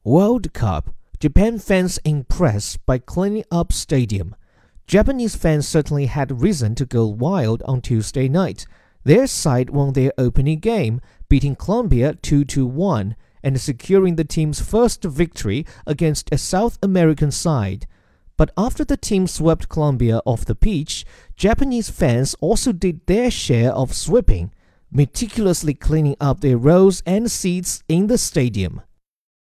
World Cup. Japan fans impressed by cleaning up stadium. Japanese fans certainly had reason to go wild on Tuesday night. Their side won their opening game, beating Colombia 2-1 and securing the team's first victory against a South American side. But after the team swept Colombia off the pitch, Japanese fans also did their share of sweeping, meticulously cleaning up their rows and seats in the stadium.